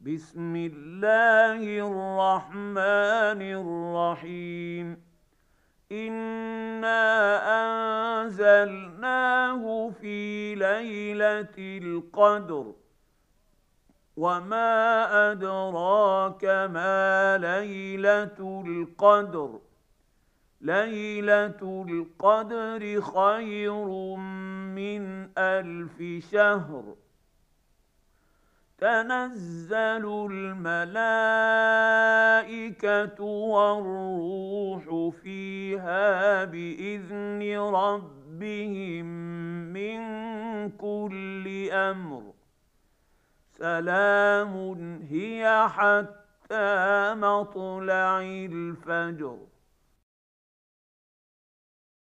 بسم الله الرحمن الرحيم. إنا أنزلناه في ليلة القدر، وما أدراك ما ليلة القدر. ليلة القدر خير من 1000 شهر. تنزل الملائكة والروح فيها بإذن ربهم من كل أمر. سلام هي حتى مطلع الفجر.